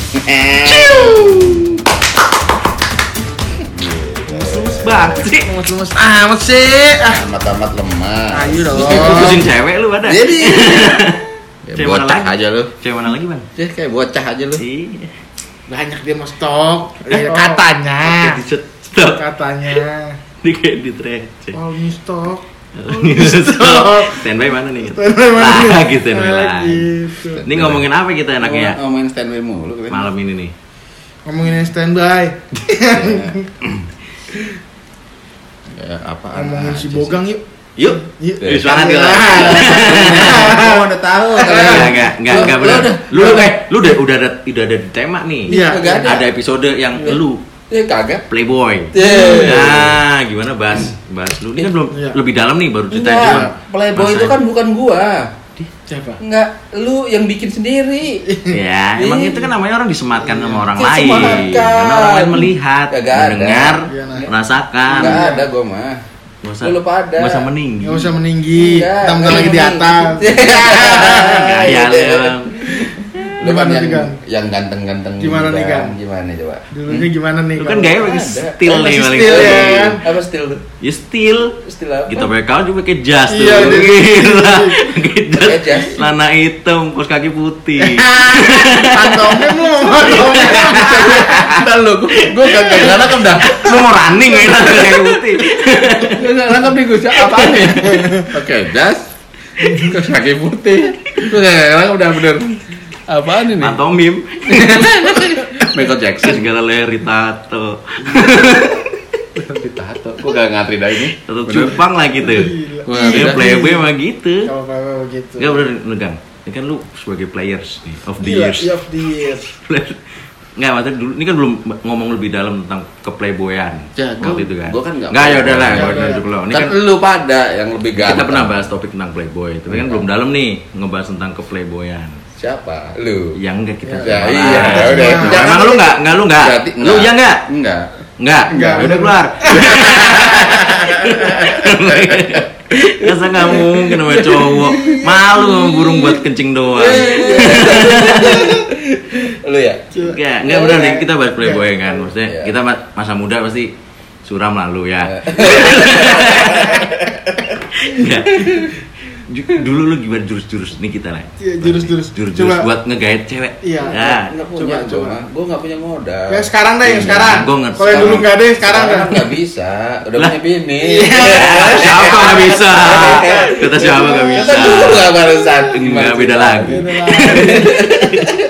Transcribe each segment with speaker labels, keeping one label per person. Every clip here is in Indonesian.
Speaker 1: Lemes banget sih.
Speaker 2: Lemes amat sih.
Speaker 3: Amat lemah.
Speaker 2: Ayo dong.
Speaker 1: Putusin cewek lu ada.
Speaker 3: Jadi
Speaker 1: Cewek mana
Speaker 3: bocah
Speaker 1: lagi?
Speaker 3: aja lu.
Speaker 1: Cewek mana lagi, Bang?
Speaker 3: Jadi kayak bocah aja lu.
Speaker 1: Iya.
Speaker 2: Banyak dia mau stok. Katanya.
Speaker 1: Di stok.
Speaker 2: Katanya.
Speaker 1: Di kayak di receh.
Speaker 2: Oh, ini stok.
Speaker 1: Standby mana nih?
Speaker 2: Standby mana nih?
Speaker 1: Lagi standby lagi.
Speaker 2: Gitu.
Speaker 1: Ini ngomongin apa kita enaknya?
Speaker 3: Ngomongin standby mulu kan.
Speaker 1: Malam ini nih.
Speaker 2: Ngomongin standby.
Speaker 3: Ya, apaan?
Speaker 2: Ngomongin si
Speaker 3: aja
Speaker 2: Bogang yuk.
Speaker 1: Yuk.
Speaker 2: Yuk.
Speaker 1: Di sana dia.
Speaker 3: Oh, udah tahu.
Speaker 1: Enggak benar. Lu udah ada di tema nih.
Speaker 2: Iya.
Speaker 1: Ada episode yang lu
Speaker 3: Ya kagak.
Speaker 1: Playboy.
Speaker 3: Yeah.
Speaker 1: Nah, gimana bahas lu ini kan belum
Speaker 2: Iya.
Speaker 1: lebih dalam nih baru ceritain
Speaker 3: Enggak,
Speaker 1: cuma
Speaker 3: Playboy
Speaker 1: masa-
Speaker 3: itu kan bukan gua.
Speaker 2: Siapa?
Speaker 3: Enggak, lu yang bikin sendiri.
Speaker 1: Ya, emang itu kan namanya orang disematkan sama orang
Speaker 3: Disematkan.
Speaker 1: lain. Karena orang lain melihat,
Speaker 3: Kagak ada.
Speaker 1: mendengar,
Speaker 2: Iya, nah.
Speaker 1: merasakan.
Speaker 3: Enggak ada gua mah.
Speaker 1: Nggak usah,
Speaker 3: Lu lupa ada.
Speaker 1: nggak usah meninggi.
Speaker 2: Gak usah meninggi.
Speaker 3: Enggak,
Speaker 2: Kita lagi di atas.
Speaker 1: Gaya lu emang.
Speaker 3: Lu kan
Speaker 2: Gimana nih, Gang?
Speaker 3: yang ganteng-ganteng.
Speaker 2: Gimana nih, Gang?
Speaker 3: Gimana coba?
Speaker 2: Dulunya gimana nih?
Speaker 1: Lu kan
Speaker 2: kalau-
Speaker 1: gaya pakai
Speaker 3: Ada.
Speaker 1: steel nih
Speaker 2: Masih
Speaker 1: paling.
Speaker 2: steel ya
Speaker 1: sering.
Speaker 2: kan?
Speaker 3: Apa still tuh?
Speaker 1: Ya steel.
Speaker 3: Still apa?
Speaker 1: Kita pakai kaos juga pakai jas tuh.
Speaker 2: Iya, jadi-
Speaker 1: Gila. Pakai
Speaker 3: Pakai jas.
Speaker 1: jas. Celana hitam, kaos kaki putih.
Speaker 2: Pantomim lu.
Speaker 3: Entar lu, gua gak nangkep dah.
Speaker 1: Lu mau running ya kaos kaki putih.
Speaker 3: Gua gak nangkep nih gua apaan nih? Oke, jas. Kaos kaki putih. Gua gak nangkep udah bener. Apaan ini?
Speaker 1: Pantomim.
Speaker 3: Michael Jackson.
Speaker 1: Segala leher ditato.
Speaker 3: Ditato. Gua gak ngatri dah ini.
Speaker 1: Tato cupang lah gitu.
Speaker 3: Gua ngatri
Speaker 1: Ya
Speaker 3: dah.
Speaker 1: playboy mah gitu.
Speaker 2: Kalau apa begitu.
Speaker 1: Enggak bener lu Gang. Ini kan lu sebagai players nih, of the
Speaker 2: Iya,
Speaker 1: years.
Speaker 2: iya, of the years.
Speaker 1: Enggak, maksudnya dulu ini kan belum ngomong lebih dalam tentang keplayboyan.
Speaker 3: Ya,
Speaker 1: waktu itu kan.
Speaker 3: gua kan nggak
Speaker 1: Enggak, ya udah lah,
Speaker 2: Ya
Speaker 1: gua
Speaker 2: udah.
Speaker 1: udah dulu. Ini
Speaker 3: Kan
Speaker 1: kan
Speaker 3: lu pada yang lebih ganteng.
Speaker 1: kita pernah bahas topik tentang playboy, tapi kan belum dalam nih ngebahas tentang keplayboyan.
Speaker 3: Siapa? Lu.
Speaker 1: Yang enggak kita.
Speaker 3: Ya
Speaker 1: bahas.
Speaker 3: iya, udah.
Speaker 2: Jangan-
Speaker 1: Emang lu enggak?
Speaker 3: Berarti
Speaker 1: Lu iya enggak?
Speaker 3: Enggak.
Speaker 1: Enggak.
Speaker 2: Enggak.
Speaker 1: Udah keluar. Masa nggak mungkin sama cowok. Malu sama burung buat kencing doang.
Speaker 3: Lu ya?
Speaker 1: Enggak benar nih kita bahas playboy kan. Maksudnya
Speaker 3: Iya.
Speaker 1: kita masa muda pasti suram lalu ya. Enggak. Dulu lu gimana jurus-jurus nih kita lah.
Speaker 2: Iya, jurus-jurus.
Speaker 1: Jurus-jurus
Speaker 2: Coba.
Speaker 1: buat ngegait cewek.
Speaker 2: Iya.
Speaker 1: Ya.
Speaker 3: Enggak punya,
Speaker 2: Coba.
Speaker 3: Gua enggak punya modal.
Speaker 2: Yang sekarang deh, yang sekarang.
Speaker 1: Gua ngerti.
Speaker 2: Kalau yang dulu nggak ada, yang sekarang dah.
Speaker 3: Enggak bisa. Udah
Speaker 1: Lah.
Speaker 3: punya bini.
Speaker 1: Siapa nggak bisa? Kata siapa nggak bisa?
Speaker 3: Kata dulu enggak barusan.
Speaker 1: Enggak beda lagi.
Speaker 2: Beda lagi.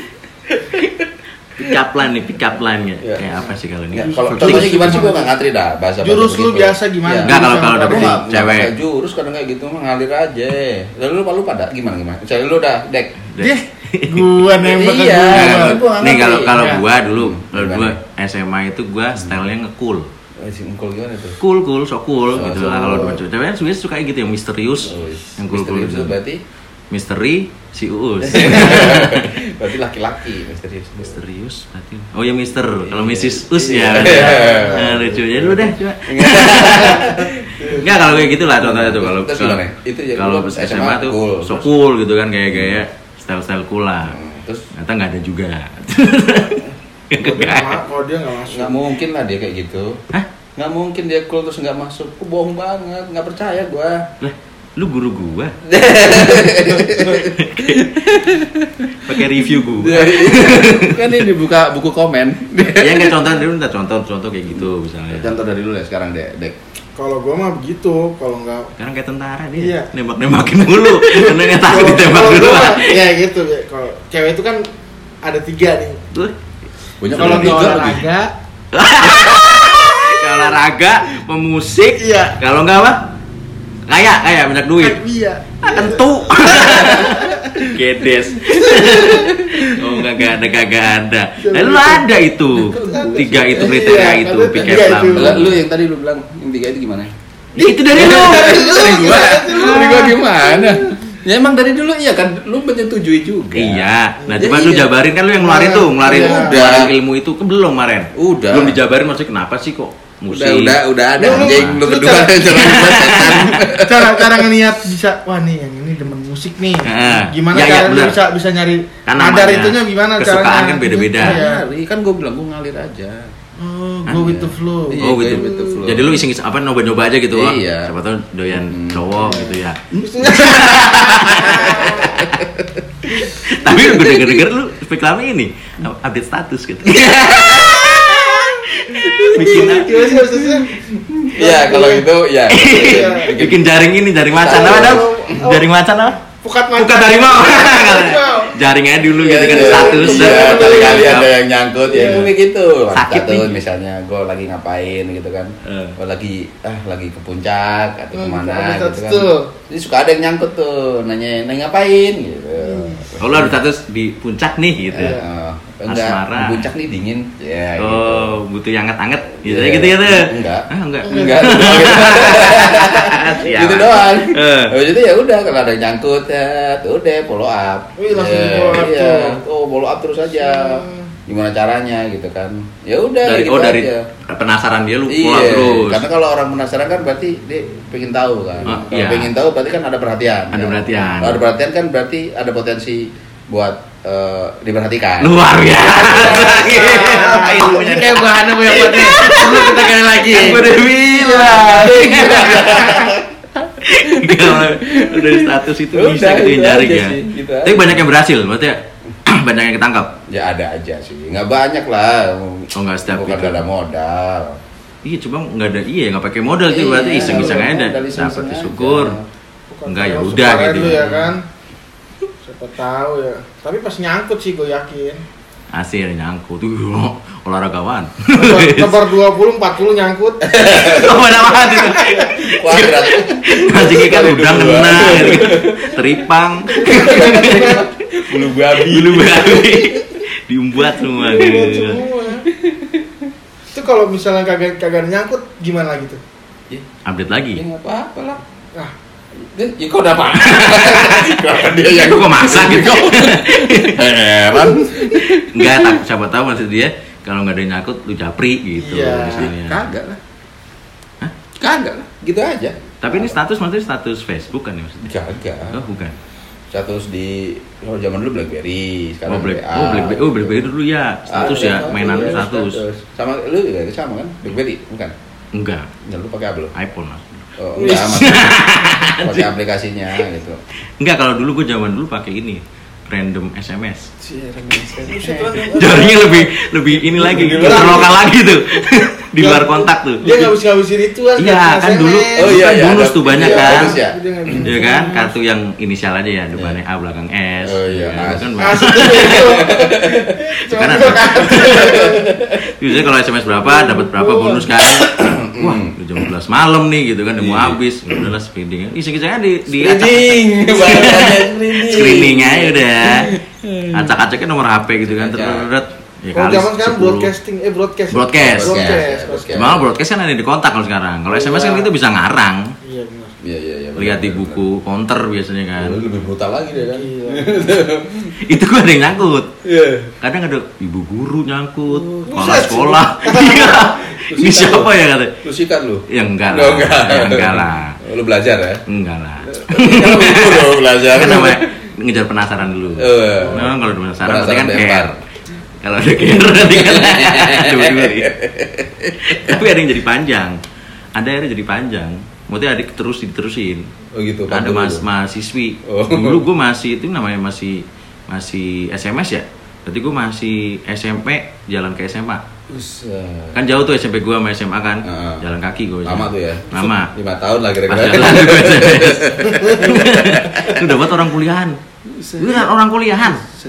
Speaker 1: Pick up line ya.
Speaker 3: Iya.
Speaker 1: Kayak apa sih kalau ini?
Speaker 3: Enggak, kalau contohnya gimana sih gua enggak ngatri dah bahasa.
Speaker 2: Jurus lu biasa gimana?
Speaker 1: Enggak, kalau
Speaker 3: Gua
Speaker 1: dapetin
Speaker 3: nggak
Speaker 1: cewek.
Speaker 3: pakai jurus kadang kayak gitu mah ngalir aja. Lalu lu pada gimana? Misalnya lu udah dek.
Speaker 2: Dia gua nembak ke
Speaker 3: Iya.
Speaker 2: gua.
Speaker 3: Gua nggak
Speaker 1: Nih
Speaker 3: ngerti.
Speaker 1: kalau
Speaker 2: Iya.
Speaker 1: gua dulu, kalau
Speaker 3: Gimana?
Speaker 1: gua SMA itu gua stylenya nge-cool.
Speaker 3: Si Engkol gimana tuh?
Speaker 1: Cool, so cool
Speaker 3: Oh,
Speaker 1: gitu
Speaker 3: so
Speaker 1: lah kalau
Speaker 3: cool.
Speaker 1: depan cewek. Cewek sebenarnya suka gitu yang misterius, yang cool
Speaker 3: Misterius
Speaker 1: gitu.
Speaker 3: itu berarti
Speaker 1: Misteri si Uus.
Speaker 3: berarti laki-laki misterius.
Speaker 1: Misterius berarti. Oh ya Mister, kalau Mrs. Us
Speaker 3: Iya.
Speaker 1: ya. Nah, lucu ya dulu deh coba. Enggak kalau kayak gitulah contohnya tuh kalau
Speaker 3: Terus gimana? Itu ya,
Speaker 1: kalau
Speaker 3: lu
Speaker 1: SMA
Speaker 3: SMA
Speaker 1: tuh
Speaker 3: cool.
Speaker 1: so cool gitu kan gaya-gaya style-style cool lah.
Speaker 3: Terus
Speaker 1: Ternyata nggak ada juga.
Speaker 2: Kalau dia nggak masuk.
Speaker 3: nggak mungkin lah dia kayak gitu.
Speaker 1: Hah?
Speaker 3: Nggak mungkin dia cool terus nggak masuk. Aku bohong banget, nggak percaya gua.
Speaker 1: Lah, lu guru gua. Pakai review gua.
Speaker 3: Kan ini buka buku komen.
Speaker 1: Ya nggak contoh dulu, minta contoh kayak gitu misalnya.
Speaker 3: Contoh dari dulu ya sekarang dek.
Speaker 2: Kalau gua mah begitu, kalau nggak
Speaker 1: Sekarang kayak tentara dia.
Speaker 2: Iya.
Speaker 1: Nembak-nembakin mulu. Karena nggak takut ditembak
Speaker 2: kalau
Speaker 1: dulu.
Speaker 2: gua mah, ya gitu. Kalau cewek itu kan ada 3 nih.
Speaker 1: Tuh.
Speaker 3: Punya
Speaker 2: Kalau
Speaker 3: tiga
Speaker 2: nggak
Speaker 3: lagi.
Speaker 2: olahraga,
Speaker 1: Kalau olahraga, pemusik,
Speaker 2: Iya.
Speaker 1: kalau nggak apa? Kaya banyak duit.
Speaker 2: iya.
Speaker 1: Tentu. Gedes. Oh kagak ada. Lalu ada itu. 3 itu kriteria
Speaker 2: Iya,
Speaker 1: itu
Speaker 2: ada
Speaker 1: pick
Speaker 2: tiga
Speaker 1: up
Speaker 2: itu.
Speaker 1: line.
Speaker 3: Lu yang tadi lu bilang yang 3 itu gimana?
Speaker 1: Ya, itu dari lu.
Speaker 3: Dari gua gimana? Ya emang dari dulu iya kan lu menyetujui juga.
Speaker 1: Iya. Nah,
Speaker 3: Ya,
Speaker 1: coba lu
Speaker 3: iya.
Speaker 1: jabarin kan lu yang ngeluarin tuh,
Speaker 2: Udah.
Speaker 1: ngeluarin ilmu itu kan belum kemarin.
Speaker 3: Udah.
Speaker 1: Belum dijabarin maksudnya kenapa sih kok musik.
Speaker 3: Udah ada
Speaker 2: Lu-
Speaker 3: anjing lu
Speaker 2: lu
Speaker 3: berdua
Speaker 2: cara-
Speaker 3: jangan setan.
Speaker 2: Cara ngelihat bisa, wah nih yang ini demen musik nih. Gimana
Speaker 1: Ya,
Speaker 2: cara lu
Speaker 1: bener.
Speaker 2: bisa nyari
Speaker 1: Kan
Speaker 2: nadar
Speaker 1: namanya
Speaker 2: itunya gimana
Speaker 1: kesukaan
Speaker 2: caranya?
Speaker 1: kan beda-beda.
Speaker 2: Iya.
Speaker 3: Kan gue bilang gue ngalir aja.
Speaker 2: Oh, go with the flow.
Speaker 3: Iya.
Speaker 1: Oh gitu.
Speaker 3: With the flow.
Speaker 1: Jadi lu iseng apa nyoba-nyoba aja gitu. Wah,
Speaker 3: Iya.
Speaker 1: siapa tahu doyan cowok gitu ya. Tapi gue denger lu reklame ini update status gitu. Bikin
Speaker 2: Gimana sih maksudnya?
Speaker 3: Iya, kalau itu ya.
Speaker 1: bikin jaring ini, jaring macan apa dong? Jaring macan apa?
Speaker 2: Pukat macan.
Speaker 1: Bukan harimau. Jaring aja dulu gitu kan status.
Speaker 3: Kali-kali ada yang nyangkut ya itu kayak gitu.
Speaker 1: Sakit
Speaker 3: Status
Speaker 1: nih.
Speaker 3: misalnya gue lagi ngapain gitu kan. Gue lagi ke puncak atau kemana
Speaker 2: update
Speaker 3: gitu kan.
Speaker 2: tuh.
Speaker 3: Jadi suka ada yang nyangkut tuh, nanya ngapain gitu.
Speaker 1: Oh lu ada status di puncak nih gitu.
Speaker 3: Enggak,
Speaker 1: Asmara.
Speaker 3: di puncak nih dingin. Ya gitu.
Speaker 1: Oh, butuh yang anget-anget gitu
Speaker 3: Iya.
Speaker 1: gitu gitu.
Speaker 3: Enggak.
Speaker 1: Ah, enggak.
Speaker 3: Enggak.
Speaker 1: Siap.
Speaker 3: Gitu doang.
Speaker 1: Eh.
Speaker 3: Jadi ya udah kalau ada yang nyangkut ya, tuh udah follow up.
Speaker 2: Wih, langsung
Speaker 3: Ya,
Speaker 2: follow up
Speaker 3: iya.
Speaker 2: tuh.
Speaker 3: Oh, follow up terus aja. Gimana caranya gitu kan. Ya udah
Speaker 1: Dari
Speaker 3: gitu
Speaker 1: dari
Speaker 3: aja.
Speaker 1: penasaran dia lu
Speaker 3: Iya,
Speaker 1: pulang terus.
Speaker 3: karena kalau orang penasaran kan berarti dia pengen tahu kan.
Speaker 1: Oh,
Speaker 3: Kalau
Speaker 1: iya.
Speaker 3: pengen tahu berarti kan ada perhatian.
Speaker 1: Ada
Speaker 3: kan?
Speaker 1: perhatian.
Speaker 3: Kalau ada perhatian kan berarti ada potensi buat diperhatikan.
Speaker 1: Luar biasa.
Speaker 2: Ini kayak bahan apa yang buat nih? Perlu kita kali lagi.
Speaker 1: Kan gue udah bilang. Kalau udah di status itu
Speaker 3: Udah,
Speaker 1: bisa gitu
Speaker 3: itu
Speaker 1: jaring
Speaker 3: aja
Speaker 1: ya.
Speaker 3: sih, gitu
Speaker 1: Tapi
Speaker 3: aja.
Speaker 1: banyak yang berhasil, maksudnya banyak yang ketangkap.
Speaker 3: Ya ada aja sih, nggak banyak lah.
Speaker 1: Oh, nggak setiap
Speaker 3: Bukan
Speaker 1: itu.
Speaker 3: ada modal.
Speaker 1: Iya, cuma nggak ada nggak pakai modal sih, berarti
Speaker 3: Iya,
Speaker 1: iseng-iseng aja
Speaker 3: modal
Speaker 1: dapat
Speaker 3: iseng-iseng aja.
Speaker 1: syukur.
Speaker 2: Bukan
Speaker 1: Enggak, ya
Speaker 2: kalau
Speaker 1: udah
Speaker 2: suka
Speaker 1: gitu.
Speaker 2: lu ya kan. Siapa tahu ya. Tapi pas nyangkut sih gue yakin.
Speaker 1: Asir nyangkut tuh olahragawan.
Speaker 2: Lebar 20 40 nyangkut.
Speaker 1: Oh, mana banget itu.
Speaker 3: Kuadrat.
Speaker 1: Mancingnya kan
Speaker 3: Kali
Speaker 1: udang
Speaker 3: dua.
Speaker 1: kena gitu. Teripang,
Speaker 3: Bulu babi.
Speaker 1: bulu babi diumbuat semua
Speaker 2: Buat
Speaker 1: gitu.
Speaker 2: semua. Itu kalau misalnya kagak nyangkut gimana gitu?
Speaker 1: Update lagi.
Speaker 3: Ya nggak apa-apa lah.
Speaker 2: Nah,
Speaker 3: Ya kok udah apa? Kenapa dia yang
Speaker 1: Kok masak gitu?
Speaker 3: heran?
Speaker 1: Enggak, siapa tahu maksud dia kalau nggak ada yang nyangkut lu japri gitu
Speaker 2: Iya.
Speaker 1: misalnya.
Speaker 3: Kagak lah.
Speaker 1: Hah?
Speaker 3: Kagak lah. Gitu aja.
Speaker 1: Tapi ini status maksudnya status Facebook kan ya maksudnya?
Speaker 3: Kagak.
Speaker 1: Oh, bukan.
Speaker 3: Status di kalau zaman dulu BlackBerry, sekarang WA.
Speaker 1: BlackBerry dulu ya. Status ya, mainan lu
Speaker 3: iya,
Speaker 1: status.
Speaker 3: Sama lu juga sama kan? BlackBerry, bukan?
Speaker 1: Enggak,
Speaker 3: Ya, lu pakai apa lu?
Speaker 1: iPhone mas.
Speaker 3: Oh, enggak, maksudnya pakai aplikasinya gitu.
Speaker 1: Enggak, kalau dulu gue zaman dulu pakai ini random SMS.
Speaker 2: buset kan.
Speaker 1: Jaringnya lebih ini lagi, lokal lagi tuh. Di luar kontak tuh.
Speaker 2: Dia ngabisin itu kan.
Speaker 1: Iya, kan dulu
Speaker 3: Oh, iya, iya,
Speaker 1: bonus
Speaker 3: ada-
Speaker 1: tuh banyak
Speaker 3: iya,
Speaker 1: kan.
Speaker 3: bonus ya.
Speaker 1: Iya kan, kartu yang inisial aja ya, depannya A belakang S.
Speaker 3: Oh, iya,
Speaker 1: kan,
Speaker 3: As.
Speaker 1: kan
Speaker 2: Asik tuh itu. Cuma
Speaker 1: Karena-
Speaker 2: gua kan.
Speaker 1: biasanya kalau SMS berapa dapat berapa bonus kan. Wah, udah jam 12 malam nih gitu kan, udah mau
Speaker 3: Iya.
Speaker 1: habis. Udahlah speeding. Iseng-isengnya di
Speaker 3: Screening, bahasanya
Speaker 1: screening aja udah. Acak-acaknya nomor HP gitu kan, terus ya
Speaker 2: Kalau
Speaker 1: kali
Speaker 2: zaman sekarang
Speaker 1: 10.
Speaker 2: broadcasting, broadcast.
Speaker 1: Broadcast.
Speaker 2: Broadcast.
Speaker 1: Malah broadcast kan ada di kontak kalau sekarang. Kalau SMS kan kita bisa ngarang.
Speaker 2: Iya benar.
Speaker 3: Iya.
Speaker 1: Lihat di buku counter biasanya kan.
Speaker 3: Lebih brutal lagi deh kan.
Speaker 2: Iya.
Speaker 1: Itu gua ada yang nyangkut.
Speaker 3: Iya.
Speaker 1: Kadang ada ibu guru nyangkut, kepala
Speaker 2: buset.
Speaker 1: sekolah. Iya. Ini siapa ya kata?
Speaker 3: Lu sikat lu.
Speaker 1: Ya enggak
Speaker 3: Oh,
Speaker 1: lah.
Speaker 3: enggak.
Speaker 1: Ya enggak lah.
Speaker 3: Lu belajar ya?
Speaker 1: Enggak lah.
Speaker 3: Lu belajar.
Speaker 1: Kan namanya ngejar penasaran dulu. Nah, kalau udah penasaran berarti kan
Speaker 3: Penasaran
Speaker 1: care. Kalau ada care berarti kan dua-dua nih. Tapi ada yang jadi panjang. Ada yang jadi panjang. Maksudnya adik terus diterusin.
Speaker 3: Oh gitu.
Speaker 1: Ada
Speaker 3: pantul lu.
Speaker 1: mahasiswi.
Speaker 3: Oh.
Speaker 1: Dulu gue masih itu namanya masih SMS ya. Berarti gue masih SMP jalan ke SMA.
Speaker 3: Buset.
Speaker 1: Kan jauh tuh SMP gue sama SMA kan.
Speaker 3: Heeh.
Speaker 1: Jalan kaki gue.
Speaker 3: Lama tuh ya?
Speaker 1: Lama.
Speaker 3: 5 tahun lah
Speaker 1: Pas
Speaker 3: kira-kira.
Speaker 1: jalan gue SMS. Itu dapat orang kuliahan. Beneran orang kuliahan.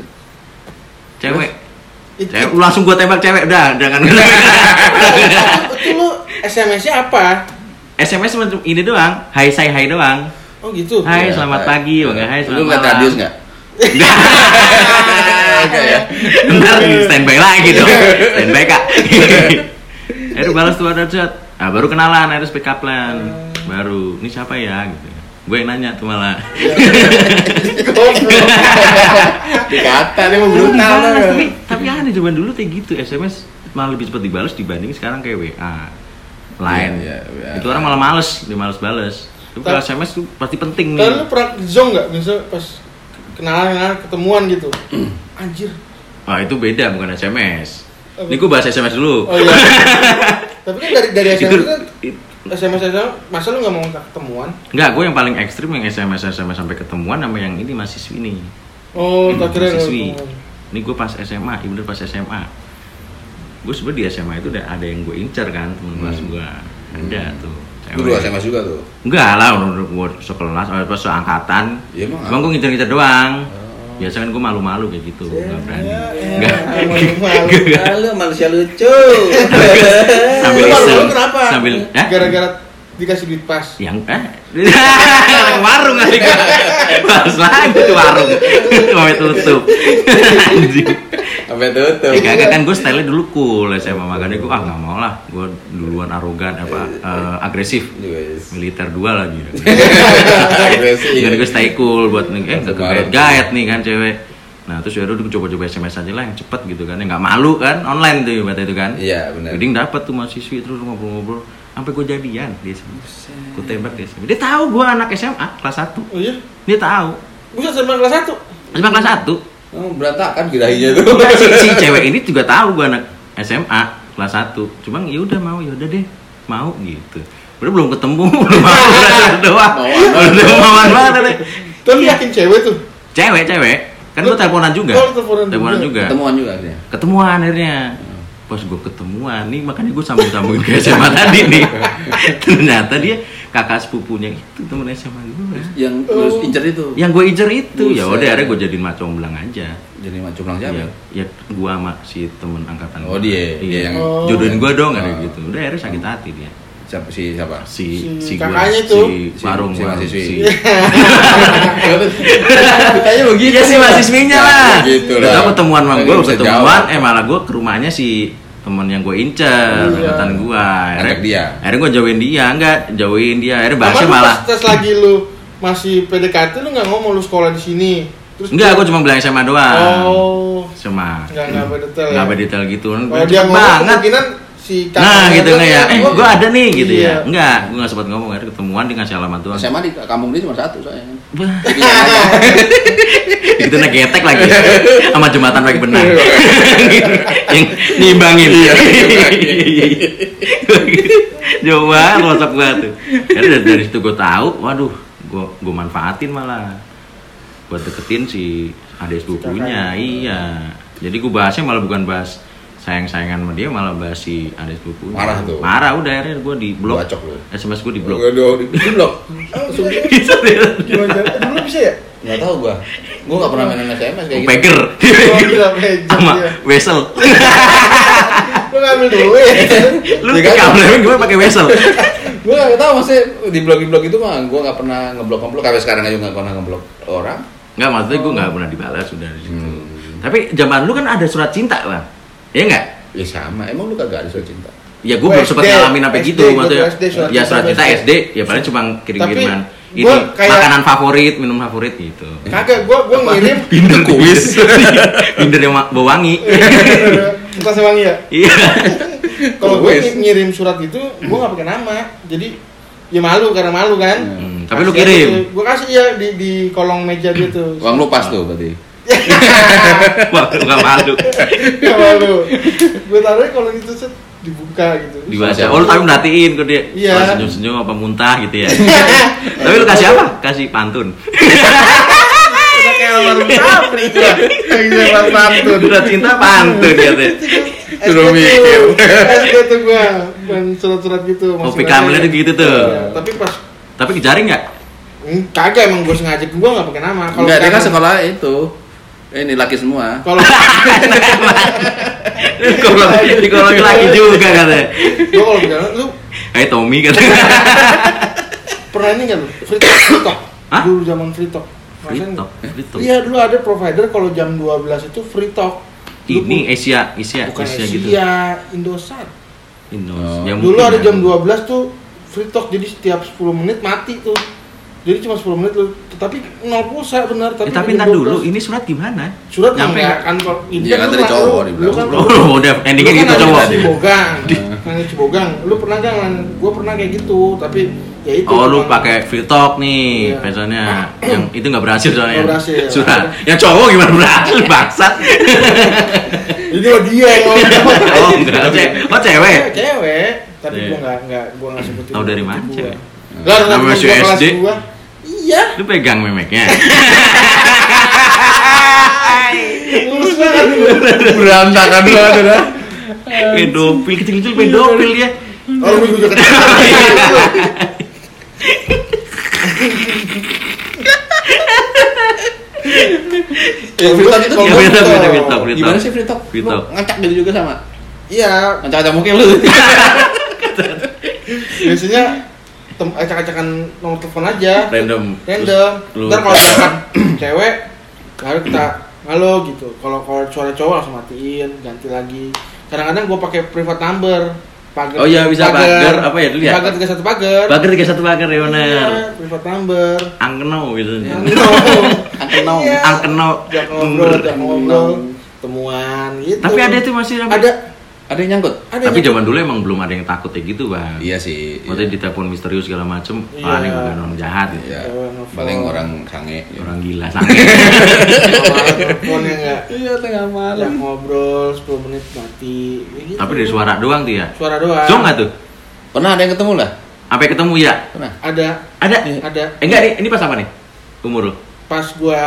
Speaker 1: Cewek. Cewek lu langsung gue tembak cewek udah jangan.
Speaker 2: Itu lu SMS-nya apa?
Speaker 1: SMS cuma ini doang. Hai say hai doang.
Speaker 2: Oh gitu.
Speaker 1: Hai
Speaker 3: Iya,
Speaker 1: selamat
Speaker 3: hai.
Speaker 1: pagi, bang. Hai
Speaker 3: Lu
Speaker 1: selamat
Speaker 3: ngeliat
Speaker 1: malam.
Speaker 3: radius nggak? Oke ya.
Speaker 1: Ntar standby lagi dong. Standby kak. Aduh balas tuh ada chat. Ah baru kenalan, harus pick up line. Baru ini siapa ya gitu. Gue yang nanya tuh malah.
Speaker 3: Dikata dia mau brutal.
Speaker 1: Tapi aneh zaman dulu kayak gitu SMS malah lebih cepat dibalas dibanding sekarang kayak WA. Line.
Speaker 3: Iya, iya,
Speaker 1: Itu orang malah males, dia males bales. Tapi kalau SMS tuh pasti penting nih.
Speaker 2: Kalau lu pernah zong nggak? Misalnya pas kenalan ketemuan gitu. Anjir.
Speaker 1: Ah itu beda, bukan SMS.
Speaker 2: Apa?
Speaker 1: Ini gue bahas SMS dulu.
Speaker 2: Oh iya. Tapi kan dari SMS
Speaker 1: Itu-
Speaker 2: kan SMS masa lu nggak mau ketemuan?
Speaker 1: Enggak, gue yang paling ekstrim yang SMS sampai ketemuan sama yang ini mahasiswi nih.
Speaker 2: Oh, tak kira
Speaker 1: Mahasiswi. Ini gue pas SMA, iya bener pas SMA. Gue sebenernya di SMA itu udah ada yang gue incer kan, temen kelas gue. Ada tuh.
Speaker 3: Lu dua SMS juga tuh.
Speaker 1: Enggak lah, udah gue sekelas, pas seangkatan.
Speaker 3: Iya, emang
Speaker 1: Cuma gue ngincer-ngincer doang. Biasa kan gue malu-malu kayak gitu, nggak berani. Nggak.
Speaker 3: Lu manusia lucu.
Speaker 1: Sambil
Speaker 2: Lu malu
Speaker 1: iseng.
Speaker 2: kenapa?
Speaker 1: Sambil,
Speaker 2: Gara-gara dikasih duit pas.
Speaker 1: yang warung kali gue pas lagi tuh warung sampai tutup anjing.
Speaker 3: Sampai tutup.
Speaker 1: Kagak kan gue style dulu cool SMA, makanya gue nggak mau lah, gue duluan arogan agresif, militer 2 lagi. Jadi gue stay cool buat nggak gaet nih kan cewek. Nah terus yaudah gue coba-coba SMS aja lah yang cepet gitu kan, yang nggak malu kan, online tuh ibaratnya itu kan.
Speaker 3: Iya benar.
Speaker 1: Jadi dapet tuh mahasiswi terus ngobrol-ngobrol sampai gue jadian dia SMS. Gue tembak dia SMS. Dia tahu gue anak SMA kelas 1.
Speaker 2: Oh iya?
Speaker 1: Dia tahu.
Speaker 2: Buset SMA kelas 1?
Speaker 1: SMA kelas 1.
Speaker 3: Oh, berantakan birahinya tuh.
Speaker 1: Si cewek ini juga tahu gue anak SMA kelas 1. Cuma ya udah mau, ya udah deh. Mau gitu. Udah belum ketemu, belum mau udah doang. Udah mauan banget deh.
Speaker 2: Tapi yakin cewek tuh?
Speaker 1: Cewek. Kan gue teleponan juga.
Speaker 2: Oh, teleponan
Speaker 1: juga.
Speaker 3: Ketemuan juga akhirnya.
Speaker 1: Ketemuan akhirnya. Pas gue ketemuan nih, makanya gue sambung-sambungin ke SMA tadi nih. Ternyata dia kakak sepupunya itu temen SMA gue.
Speaker 3: Yang lu incer itu.
Speaker 1: Yang gue incer itu, ya
Speaker 3: Buset.
Speaker 1: udah akhirnya gue jadiin macomblang aja.
Speaker 3: Jadi macam bilang siapa?
Speaker 1: Ya gue sama si temen angkatan
Speaker 3: Oh,
Speaker 1: gua.
Speaker 3: dia yang
Speaker 2: Oh.
Speaker 1: jodohin gue dong kayak
Speaker 3: Oh.
Speaker 1: gitu. Udah akhirnya sakit hati dia.
Speaker 3: siapa siapa?
Speaker 2: Si
Speaker 1: gua,
Speaker 2: kakaknya tuh.
Speaker 1: si warung
Speaker 3: Si
Speaker 1: warung,
Speaker 3: mahasiswi.
Speaker 1: si
Speaker 3: Kayaknya begitu.
Speaker 1: iya si mahasiswinya lah.
Speaker 3: Gitu
Speaker 1: Udah
Speaker 3: lah.
Speaker 1: tau ketemuan sama
Speaker 3: Nggak
Speaker 1: gue,
Speaker 3: bisa
Speaker 1: ketemuan
Speaker 3: jawab.
Speaker 1: malah gue ke rumahnya si temen yang gue incer,
Speaker 2: Iya.
Speaker 1: angkatan gue.
Speaker 3: Ajak dia.
Speaker 1: Akhirnya gue jauhin dia, jauhin dia. Akhirnya
Speaker 2: Apa
Speaker 1: bahasnya
Speaker 2: lu
Speaker 1: malah
Speaker 2: pas lagi lu masih PDKT lu nggak ngomong lu sekolah di sini? Terus
Speaker 1: enggak, gue cuma bilang SMA doang.
Speaker 2: Oh.
Speaker 1: SMA.
Speaker 2: Nggak berdetail.
Speaker 1: Nggak berdetail gitu.
Speaker 2: Kalau dia ngomong
Speaker 1: banget.
Speaker 2: kemungkinan si
Speaker 1: Nah gitu
Speaker 2: tuh
Speaker 1: nggak ya?
Speaker 2: kayak,
Speaker 1: Gue ada nih gitu
Speaker 2: iya.
Speaker 1: ya. Enggak, gue nggak sempat ngomong. Akhirnya ketemuan, dia ngasih alamat doang.
Speaker 3: SMA di kampung dia cuma satu soalnya.
Speaker 1: Bah. Itu naik getek lagi sama jembatan baik benar yang nimbangin. Jauh banget sosok gua tuh. Jadi dari situ gue tahu, waduh, gue manfaatin malah buat deketin si adik sepupunya. Iya. Jadi gue bahasnya malah bukan bahas sayang-sayangan sama dia, malah bahas si adik sepupunya.
Speaker 3: Marah tuh.
Speaker 1: Marah udah, akhirnya gue di blok.
Speaker 3: Bacok lu.
Speaker 1: SMS gue di blok.
Speaker 3: Di blok.
Speaker 1: Bisa deh.
Speaker 2: Gimana? Dulu bisa ya?
Speaker 3: Enggak tahu gua. Gua enggak pernah main SMS kayak gitu.
Speaker 1: Peger.
Speaker 2: Oh, gila, peger,
Speaker 1: Sama
Speaker 2: iya.
Speaker 1: wesel.
Speaker 2: Lu ngambil duit.
Speaker 1: Lu
Speaker 3: Ya kan?
Speaker 1: kabelnya gimana pakai wesel?
Speaker 3: Gua enggak tahu maksudnya di blog itu mah gua enggak pernah ngeblok sampai sekarang aja enggak pernah ngeblok orang.
Speaker 1: Enggak, maksudnya gue nggak pernah dibalas sudah di situ. Tapi zaman lu kan ada surat cinta, Bang. Iya enggak?
Speaker 3: Ya sama. Emang lu kagak ada surat cinta?
Speaker 1: Ya gue
Speaker 2: Gua
Speaker 1: belum sempat
Speaker 2: SD,
Speaker 1: ngalamin sampai
Speaker 2: SD,
Speaker 1: gitu,
Speaker 2: gua
Speaker 1: maksudnya.
Speaker 2: SD, surat
Speaker 1: Ya surat
Speaker 2: cinta
Speaker 1: cinta
Speaker 2: SD.
Speaker 1: SD, ya paling cuma kirim-kiriman.
Speaker 2: Tapi
Speaker 1: Ini
Speaker 2: gua kayak-
Speaker 1: makanan favorit, minum favorit gitu.
Speaker 2: Kagak, gua ngirim
Speaker 1: Binder kuis. Binder yang bau wangi.
Speaker 2: entah sewangi ya.
Speaker 1: Iya.
Speaker 2: Kalau gue
Speaker 3: Wes.
Speaker 2: ngirim surat itu, gue nggak pakai nama. Jadi ya malu karena malu kan.
Speaker 1: Tapi lu
Speaker 2: Kasih
Speaker 1: kirim.
Speaker 2: aja tuh. Gua kasih ya di kolong meja dia tuh.
Speaker 3: Uang lu pas tuh berarti.
Speaker 1: Wah, lu nggak malu.
Speaker 2: Gak malu. Gue taruhnya kalau gitu set dibuka gitu.
Speaker 1: Dibaca. Oh, lu tapi merhatiin ke dia.
Speaker 2: Iya.
Speaker 1: Kalau senyum-senyum apa muntah gitu ya. Tapi lu kasih apa? Kasih pantun.
Speaker 2: Udah kayak almarhum Sapri tuh. Kayak pantun.
Speaker 1: Surat cinta pantun gitu.
Speaker 3: Suruh mikir.
Speaker 2: SD tuh gue, surat-surat gitu.
Speaker 1: Oh,
Speaker 2: masukin
Speaker 1: PKM-nya
Speaker 2: aja.
Speaker 1: tuh gitu tuh.
Speaker 2: Iya, tapi pas
Speaker 1: Tapi kejaring nggak?
Speaker 2: kagak emang gue sengaja gue nggak pakai nama. Kalau
Speaker 3: Enggak, dia kan
Speaker 2: sekarang-
Speaker 3: sekolah itu. Ini laki semua.
Speaker 2: Kalau
Speaker 1: Kalau laki juga katanya.
Speaker 2: gue kalau bicara lu
Speaker 1: Kayak Tommy katanya.
Speaker 2: pernah ini nggak lu? Free talk.
Speaker 1: Hah?
Speaker 2: Dulu zaman free talk.
Speaker 1: Free
Speaker 2: Ngerasain
Speaker 1: talk,
Speaker 2: nggak?
Speaker 1: free talk.
Speaker 2: Iya dulu ada provider kalau jam 12 itu free talk. Lu
Speaker 1: Ini Asia
Speaker 2: bukan Asia
Speaker 1: gitu.
Speaker 2: Indosat.
Speaker 1: Indos.
Speaker 3: Oh.
Speaker 1: Ya,
Speaker 2: Dulu
Speaker 1: mungkin
Speaker 2: ada
Speaker 1: ya.
Speaker 2: jam 12 tuh free talk, jadi setiap 10 menit mati tuh. Jadi cuma 10 menit lu, tapi 0 pulsa benar, tapi
Speaker 1: Tapi
Speaker 2: jam
Speaker 1: ntar dulu,
Speaker 2: 12.
Speaker 1: ini surat gimana?
Speaker 2: Surat
Speaker 1: nyampe
Speaker 2: enggak kantor.
Speaker 3: Iya kan dari cowok di
Speaker 2: Lu kan
Speaker 3: belakang.
Speaker 1: Oh, udah endingnya
Speaker 2: lu
Speaker 1: gitu
Speaker 2: kan
Speaker 1: cowok.
Speaker 2: ada di Cibogang. Kan di Cibogang. Lu pernah enggak? Gua pernah kayak gitu, tapi Ya itu.
Speaker 1: Oh lu pakai free talk nih, biasanya yang itu nggak berhasil soalnya.
Speaker 2: Nggak berhasil.
Speaker 1: Surat. Yang cowok gimana berhasil bangsat?
Speaker 2: Ini mah dia yang ngomong.
Speaker 1: Oh enggak, cewek.
Speaker 2: Cewek. Tapi
Speaker 1: Iya.
Speaker 2: gua nggak sebutin.
Speaker 1: Tahu dari mana
Speaker 2: gua.
Speaker 1: cewek?
Speaker 2: Lah,
Speaker 1: Nama
Speaker 2: temen
Speaker 1: masih
Speaker 2: gua kelas
Speaker 1: SD?
Speaker 2: gua. Iya.
Speaker 1: Lu pegang memeknya.
Speaker 2: Lulus banget.
Speaker 3: Berantakan banget dah.
Speaker 1: Pedofil kecil-kecil pedofil dia.
Speaker 2: Oh, lu juga kecil.
Speaker 3: Ya, free talk itu
Speaker 1: Ya
Speaker 2: Kalau
Speaker 1: free talk,
Speaker 2: gua-
Speaker 1: free talk.
Speaker 3: gimana sih free talk?
Speaker 1: Free
Speaker 3: Lu
Speaker 1: talk.
Speaker 3: ngacak gitu juga sama?
Speaker 2: Iya,
Speaker 3: Ngacak-ngacak mungkin lu.
Speaker 2: biasanya acak-acakan nomor telepon aja.
Speaker 1: Random.
Speaker 2: Random.
Speaker 1: Lu-
Speaker 2: Ntar kalau misalkan cewek, baru kita halo gitu. Kalau suara cowok langsung matiin, ganti lagi. Kadang-kadang gue pakai private number. Pagar,
Speaker 1: Oh iya, bisa pagar, apa ya dulu ya?
Speaker 2: Pagar 31 pagar.
Speaker 1: Pagar 31 pagar ya bener.
Speaker 2: Iya, private number.
Speaker 1: Angkeno gitu.
Speaker 3: Angkeno.
Speaker 2: Iya.
Speaker 1: Angkeno.
Speaker 2: Jak ngobrol, temuan gitu.
Speaker 1: Tapi ada itu masih
Speaker 2: Ada
Speaker 3: Ada yang nyangkut?
Speaker 1: Tapi zaman dulu emang belum ada yang takut kayak gitu, Bang.
Speaker 3: Iya sih.
Speaker 1: Maksudnya ditelepon misterius segala macem,
Speaker 2: Iya.
Speaker 1: wah ini bukan orang jahat gitu.
Speaker 3: Iya.
Speaker 2: Nelfon.
Speaker 3: Paling orang sange.
Speaker 1: Orang gila, sange.
Speaker 2: Teleponnya enggak.
Speaker 3: Iya, tengah
Speaker 2: Jak
Speaker 3: malam.
Speaker 2: ngobrol 10 menit mati. Ya gitu.
Speaker 1: Tapi dari suara doang tuh ya.
Speaker 2: Suara doang.
Speaker 1: Jong nggak tuh?
Speaker 3: Pernah ada yang ketemu lah?
Speaker 1: Sampai ketemu ya?
Speaker 3: Pernah.
Speaker 2: Ada.
Speaker 1: Ada?
Speaker 2: Ada.
Speaker 1: Enggak nih, ini pas apa nih? Umur lu?
Speaker 2: Pas gua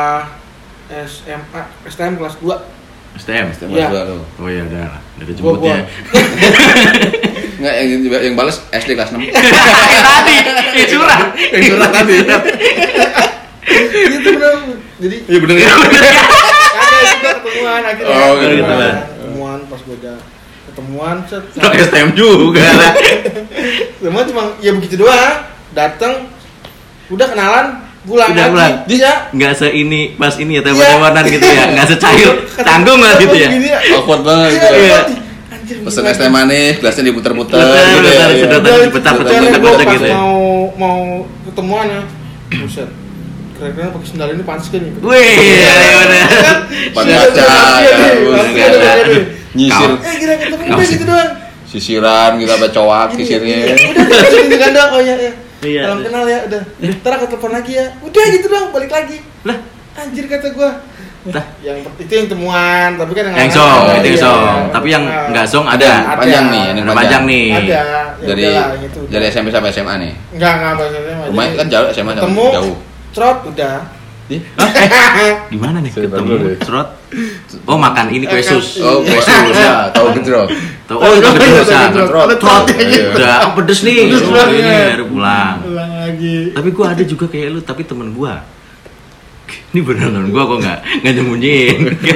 Speaker 2: SMA, STM kelas 2.
Speaker 1: STM?
Speaker 2: Iya.
Speaker 3: Lu.
Speaker 1: Oh iya udah lah, udah
Speaker 2: Gua
Speaker 1: jemputnya.
Speaker 3: Enggak, yang balas SD kelas 6.
Speaker 1: Tadi, curang.
Speaker 3: Curang tadi.
Speaker 2: Gitu bener. Jadi
Speaker 3: Iya bener ya.
Speaker 2: ada kita ketemuan akhirnya.
Speaker 3: Oh, gitu.
Speaker 2: Ketemuan pas gua udah ketemuan set.
Speaker 1: Lo STM juga lah.
Speaker 2: Semua cuma ya begitu doang. Datang udah kenalan, pulang
Speaker 1: Udah
Speaker 2: lagi.
Speaker 1: pulang.
Speaker 2: Dia
Speaker 1: Nggak seini, pas ini ya, telepon-teleponan gitu ya. Nggak secair, canggung lah gitu ya.
Speaker 3: Awkward banget gitu.
Speaker 1: Iya.
Speaker 2: Anjir.
Speaker 3: Pesen es teh manis, gelasnya diputer-puter
Speaker 1: Betul,
Speaker 3: gitu
Speaker 1: betul,
Speaker 3: ya.
Speaker 1: sedotan
Speaker 3: Iya.
Speaker 1: diputar-putar,
Speaker 2: Caranya gua
Speaker 1: putar-putar
Speaker 2: pas
Speaker 1: gitu ya.
Speaker 2: mau ketemuan ya. Buset. Kira-kira pakai sendal ini pantas kan ya?
Speaker 1: Wih, iya bener.
Speaker 3: Pan kaca, ya,
Speaker 1: Kaca.
Speaker 3: nyisir
Speaker 2: Kira ketemu
Speaker 1: Kau
Speaker 2: udah
Speaker 1: sih.
Speaker 2: gitu doang.
Speaker 3: sisiran kita sampai cowok sisirnya.
Speaker 2: Udah sini ganda oh ya ya.
Speaker 1: Iya.
Speaker 2: Salam kenal ya udah. Ntar aku telepon lagi ya. Udah gitu doang balik lagi.
Speaker 1: Lah,
Speaker 2: Anjir kata gua.
Speaker 1: Tah.
Speaker 2: Yang itu yang temuan, tapi kan
Speaker 1: yang song,
Speaker 3: Oh,
Speaker 1: itu yang
Speaker 3: iya.
Speaker 1: song. Tapi yang nggak song ada.
Speaker 3: Panjang nih, yang
Speaker 1: Ada panjang nih.
Speaker 2: Ada. Ya
Speaker 3: Dari
Speaker 2: udahlah, yang itu.
Speaker 3: dari SMP sampai SMA nih.
Speaker 2: Enggak bahasanya.
Speaker 3: Lumayan kan jauh SMA sama
Speaker 2: Ketemu,
Speaker 3: jauh.
Speaker 2: trot udah.
Speaker 1: Gimana nih
Speaker 3: Saya
Speaker 1: ketemu
Speaker 3: baru deh.
Speaker 1: serot? Oh makan ini kue sus.
Speaker 3: Oh, kue sus ya, tahu gejrot.
Speaker 1: Tuh, oh itu keterusan.
Speaker 2: Trot.
Speaker 1: Trot.
Speaker 3: Iya.
Speaker 1: Udah, oh, pedes nih.
Speaker 2: Pedes
Speaker 1: Oh,
Speaker 2: banget.
Speaker 1: ini baru pulang.
Speaker 2: Ulang lagi.
Speaker 1: Tapi gua ada juga kayak lu, tapi temen gua. Ini beneran temen gua kok nggak nyembunyiin.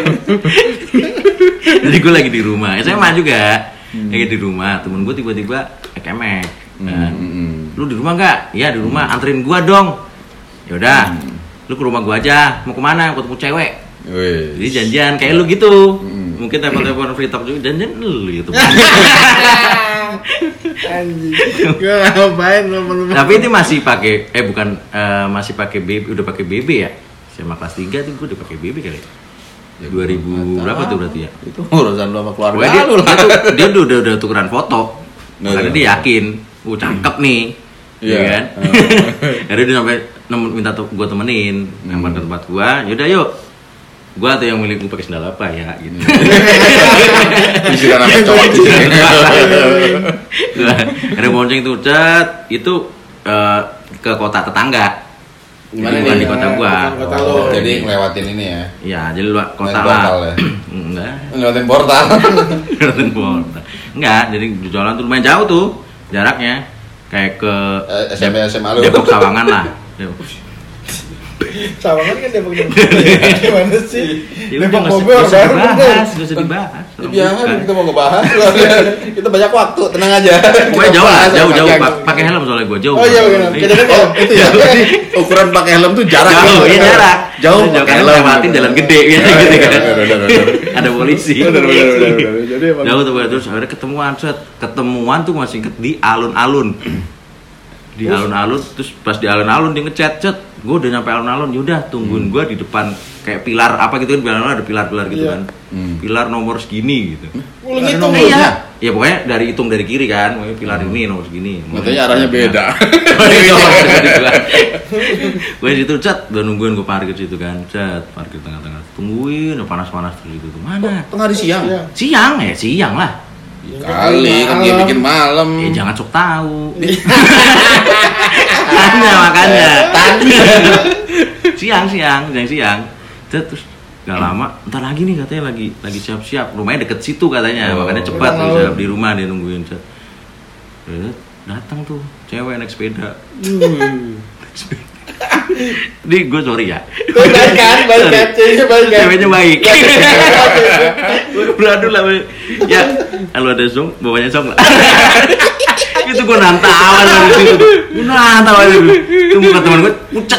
Speaker 1: Jadi gua lagi di rumah, SMA juga. Lagi di rumah, temen gua tiba-tiba ekemek. Lu di rumah nggak? Iya di rumah. Anterin gua dong. Yaudah. Lu ke rumah gua aja. Mau kemana? Mau ketemu cewek.
Speaker 3: Wih.
Speaker 1: Jadi janjian kayak lu gitu. Mungkin telepon-telepon free talk juga janjian lu gitu.
Speaker 2: Anjing. Gua ngapain lu?
Speaker 1: Tapi itu masih pakai masih pakai BB, udah pakai BB ya? SMA kelas 3 tuh gue udah pakai BB kali.
Speaker 3: Ya,
Speaker 1: 2000 berapa tuh berarti ya?
Speaker 3: Itu urusan lu sama keluarga
Speaker 1: Pokoknya
Speaker 3: lu lah.
Speaker 1: dia udah tukeran foto.
Speaker 3: Nah,
Speaker 1: Karena
Speaker 3: iya.
Speaker 1: dia yakin, cakep nih.
Speaker 3: Iya.
Speaker 1: Iya kan? Jadi dia sampai minta gue temenin, ngambil ke tempat gua. Yaudah yuk. Gua tuh yang milih gue pakai sendal apa ya gitu.
Speaker 3: Sisiran sampai cowok sisirnya.
Speaker 1: Ada bonceng tuh, cet, itu ke kota tetangga.
Speaker 3: Gimana
Speaker 1: Bukan
Speaker 3: nih?
Speaker 1: di kota gua.
Speaker 2: Kota lu.
Speaker 3: Jadi ngelewatin ini ya.
Speaker 1: Iya, jadi luar kota
Speaker 3: Naik
Speaker 1: lah.
Speaker 3: portal ya?
Speaker 1: Enggak.
Speaker 3: Ngelewatin portal.
Speaker 1: Ngelewatin portal. Enggak, jadi di jalan tuh lumayan jauh tuh jaraknya. Kayak ke
Speaker 3: SMP SMA lu.
Speaker 1: Depok Sawangan lah. Depok.
Speaker 2: Sawangan kan Depok gimana sih?
Speaker 1: Ya udah,
Speaker 2: Depok
Speaker 1: nggak
Speaker 2: Bogor
Speaker 1: usah
Speaker 2: baru
Speaker 1: dibahas, nggak usah dibahas.
Speaker 3: Ya, biar kita mau ngebahas. Kita banyak waktu, tenang aja.
Speaker 1: Pokoknya jauh lah,
Speaker 3: Kita
Speaker 1: jauh
Speaker 3: bahas
Speaker 1: jauh.
Speaker 3: panjang.
Speaker 1: Pakai helm soalnya gua jauh.
Speaker 2: Oh iya benar.
Speaker 3: Oh, itu ya. Ukuran pakai helm tuh jarak.
Speaker 1: Jauh, iya jarak.
Speaker 3: Jauh pakai
Speaker 1: pakai
Speaker 3: helm.
Speaker 1: lewatin jalan gede gitu kan. Ada polisi.
Speaker 3: Benar. Jadi emang
Speaker 1: Jauh tuh terus akhirnya ketemuan tuh masih inget di alun-alun. Di alun-alun terus pas di alun-alun dia ngechat gue udah nyampe alun-alun yaudah tungguin gue di depan kayak pilar apa gitu kan pilar ada pilar-pilar gitu
Speaker 2: Iya.
Speaker 1: kan pilar nomor segini gitu
Speaker 2: Lu
Speaker 3: Ada
Speaker 2: ngitung
Speaker 3: nomornya?
Speaker 2: ya.
Speaker 1: ya pokoknya hitung dari kiri kan pokoknya pilar ini nomor segini
Speaker 3: katanya arahnya beda.
Speaker 1: Gue situ cat, udah nungguin gue parkir situ kan, cat parkir tengah-tengah, tungguin, udah panas-panas terus itu. Mana?
Speaker 3: Tengah hari siang.
Speaker 1: Siang lah.
Speaker 3: Kali kan dia bikin malam.
Speaker 1: Jangan sok tahu. makanya. Siang. Terus gak lama, entar lagi nih katanya lagi siap-siap. Rumahnya deket situ katanya, makanya cepat siap di rumah dia nungguin. Datang tuh cewek naik sepeda. Ini gue sorry ya.
Speaker 2: Baik kan,
Speaker 1: ceweknya baik. Beradu lah. Ya, kalau ada song, bawanya song lah. Itu gue nantawan dari situ. Itu muka teman gue pucat.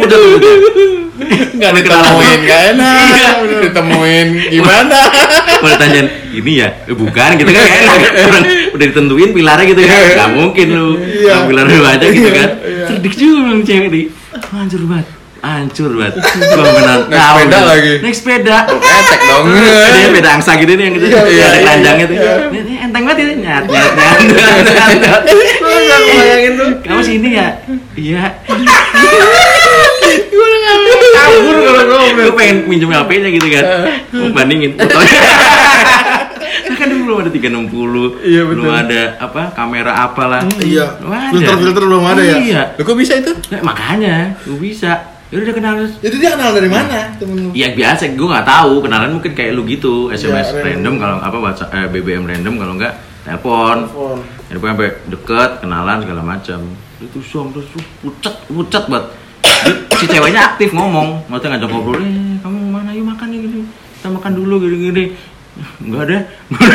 Speaker 3: Nggak ditemuin, nggak enak. Ditemuin gimana?
Speaker 1: Kalau tanyain ini ya, bukan gitu kan nggak enak. Orang udah ditentuin pilarnya gitu kan, nggak mungkin lu pilar lu aja gitu kan. Cerdik juga cewek nih, hancur banget. Gua menang.
Speaker 3: Naik sepeda lagi.
Speaker 1: Naik sepeda.
Speaker 3: Ketek dong.
Speaker 1: Dia sepeda angsa gitu nih yang gitu. Ada keranjangnya tuh. Ini enteng banget ini. Nyat.
Speaker 2: Gue nggak bayangin tuh.
Speaker 1: Kamu sini ya? Iya.
Speaker 2: Gue udah nggak mau kabur kalau
Speaker 1: Gue pengen minjem HP-nya gitu kan. Mau bandingin fotonya. Kan dulu belum ada 360.
Speaker 2: Iya, betul.
Speaker 1: Belum ada kamera apalah.
Speaker 2: Iya.
Speaker 1: Filter
Speaker 2: belum ada ya.
Speaker 1: Iya.
Speaker 3: Lu kok bisa itu?
Speaker 1: Makanya gue bisa. Ya udah kenal.
Speaker 2: Jadi dia kenal dari mana temen lu?
Speaker 1: Iya biasa, gue nggak tahu. Kenalan mungkin kayak lu gitu, SMS
Speaker 2: ya,
Speaker 1: random kalau WhatsApp, BBM random kalau enggak telepon. Telepon sampai deket, kenalan segala macam. Itu terus pucat banget. Si ceweknya aktif ngomong, maksudnya ngajak ngobrol, kamu mana yuk makan nih gini, kita makan dulu gini. Enggak ada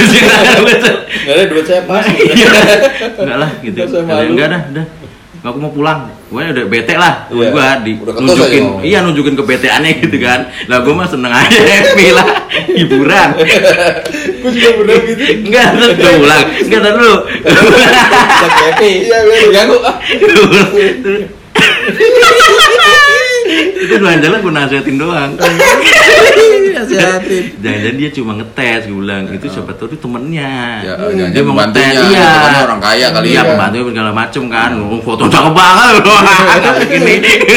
Speaker 3: duit saya pas.
Speaker 1: Enggak lah gitu. Enggak dah. Aku mau pulang. Gue udah bete lah. Gue nunjukin kebeteannya gitu kan. Lah gue mah seneng aja, happy lah, hiburan.
Speaker 2: Gue juga bener gitu.
Speaker 1: Enggak, terus gue pulang. Enggak dulu.
Speaker 3: Happy. Iya, gue ganggu.
Speaker 1: Itu jalan gue nasihatin doang.
Speaker 3: Nasihatin.
Speaker 1: Jangan-jangan dia cuma ngetes, gue bilang. Itu siapa tahu itu temennya.
Speaker 3: Ya,
Speaker 1: dia mau ngetes. Iya.
Speaker 3: Orang kaya kali
Speaker 1: ya. Iya, pembantunya segala macem kan. Foto cakep banget. Gini.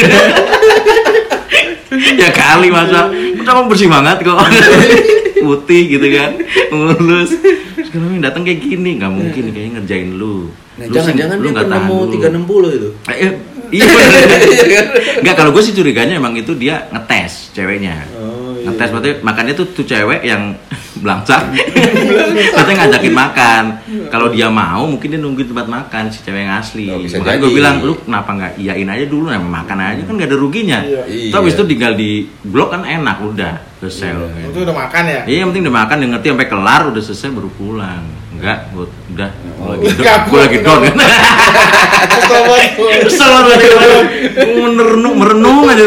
Speaker 1: Ya kali masa. Cakep bersih banget kok. Putih gitu kan. Mulus. Sekarang datang kayak gini, nggak mungkin kayaknya ngerjain lu.
Speaker 3: Nah, jangan-jangan dia penemu 360 itu.
Speaker 1: Iya. Enggak, kalau gue sih curiganya emang itu dia ngetes ceweknya. Ngetes berarti makanya tuh cewek yang belangsak. Katanya ngajakin makan. Kalau dia mau mungkin dia nungguin tempat makan si cewek yang asli. Makanya gue bilang, lu kenapa nggak iyain aja dulu, makan aja kan nggak ada ruginya. Iya. Terus itu tinggal di blok kan enak udah selesai.
Speaker 2: Itu udah makan ya?
Speaker 1: Iya, yang penting udah makan, dia ngerti sampai kelar udah selesai baru pulang. Enggak, udah gue lagi down kan. Kesel banget. Merenung aja.